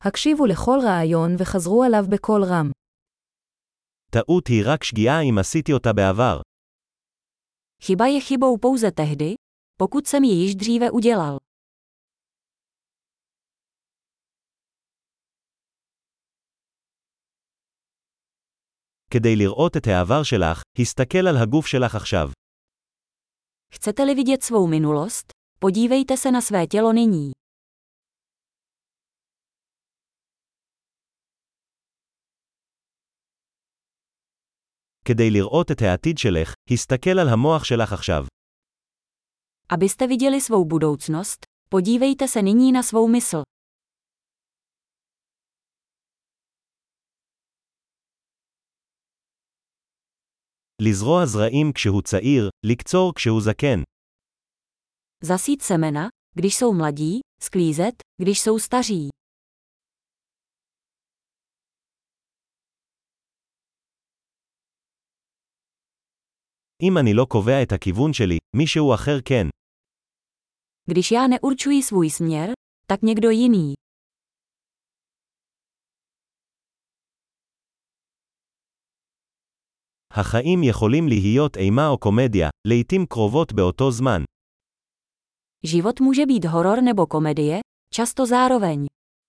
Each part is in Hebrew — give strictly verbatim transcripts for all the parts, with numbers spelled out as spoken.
הקשיבו לכל רעיון וחזרו עליו בקול רם. טעות היא רק שגיאה אם עשיתי אותה בעבר. Chyba je chybou pouze tehdy, pokud jsem ji již dříve udělal. כדי לראות את העבר שלך, הסתכל על הגוף שלך עכשיו. Chcete-li vidět svou minulost, podívejte se na své tělo nyní. כדי לראות את העתיד שלך, הסתכל על המוח שלך עכשיו. Abyste viděli svou budoucnost, podívejte se nyní na svou mysl. לזרוע זרעים כשהוא צעיר, לקצור כשהוא זקן. Zasít semena, když jsou mladí, sklízet, když jsou staří. אם אני לא קובע את הכיוון שלי, מישהו אחר כן. Když já neurčuji svůj směr, tak někdo jiný. החיים יכולים להיות אימה או קומדיה, לעתים קרובות באותו זמן. Život může být horor nebo komedie, často zároveň.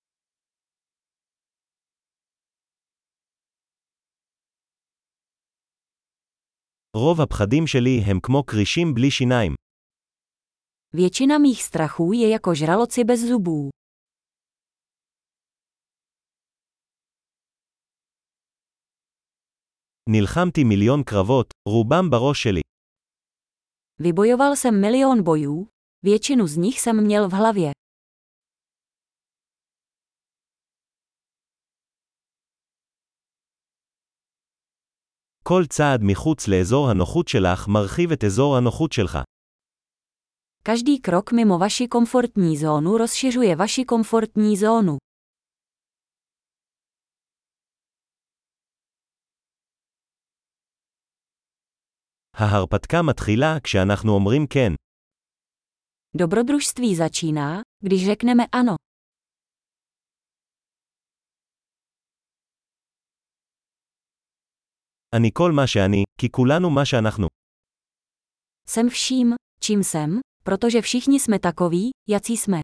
רוב הפחדים שלי הם כמו קרישים בלי שיניים. Většina mých strachů je jako žraloci bez zubů. נלחמתי מיליון קרבות, רובם בראש שלי. Vybojoval jsem milion bojů, většinu z nich jsem měl v hlavě. כל צעד מחוץ לאזור הנוחות שלך מרחיב את אזור הנוחות שלך. Každý krok mimo vaši komfortní zónu rozšiřuje vaši komfortní zónu. ההרפתקה מתחילה כשאנחנו אומרים כן. Dobrodružství začíná, když řekneme ano. אני כל מה שאני, כי כולנו מה שאנחנו. Jsem vším, čím jsem, protože všichni jsme takoví, jací jsme.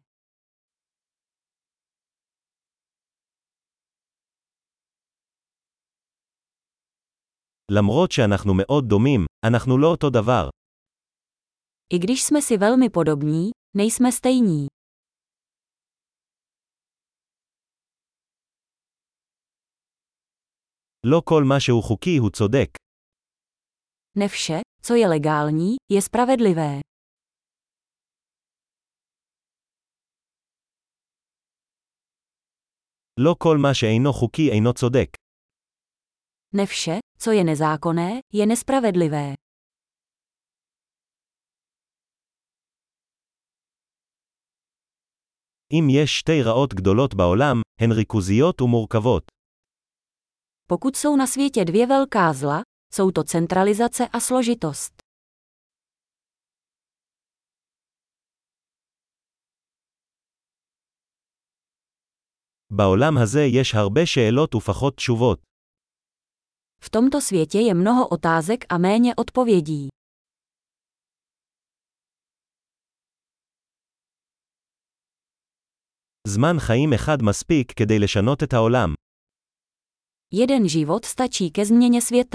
למרות שאנחנו מאוד דומים, אנחנו לא אותו דבר. I když jsme si velmi podobní, nejsme stejní. לא כל מה שהוא חוקי הוא צודק. Ne vše, co je legální, je spravedlivé. לא כל מה שאינו חוקי אינו צודק. Ne vše, co je nezákonné, je nespravedlivé. אם יש שתי רעות גדולות בעולם, הן ריכוזיות ומורכבות. Pokud jsou na světě dvě velká zla, jsou to centralizace a složitost. בעולם הזה יש הרבה שאלות ופחות תשובות. V tomto světě je mnoho otázek a méně odpovědí. זמן חיים אחד מספיק כדי לשנות את העולם. Jeden život stačí ke změně světa.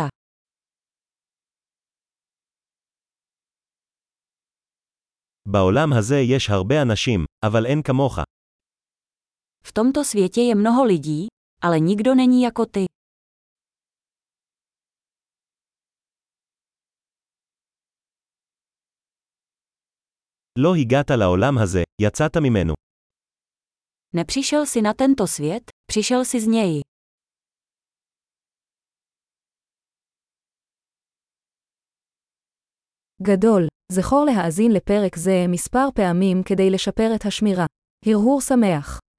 בעולם הזה יש הרבה אנשים, אבל אין כמוך. V tomto světě je mnoho lidí, ale nikdo není jako ty. לא הגעת לעולם הזה, יצאת ממנו. Nepřišel si na tento svět, přišel si z něj. גדול, זכור להאזין לפרק זה מספר פעמים כדי לשפר את השמירה. הרהור שמח.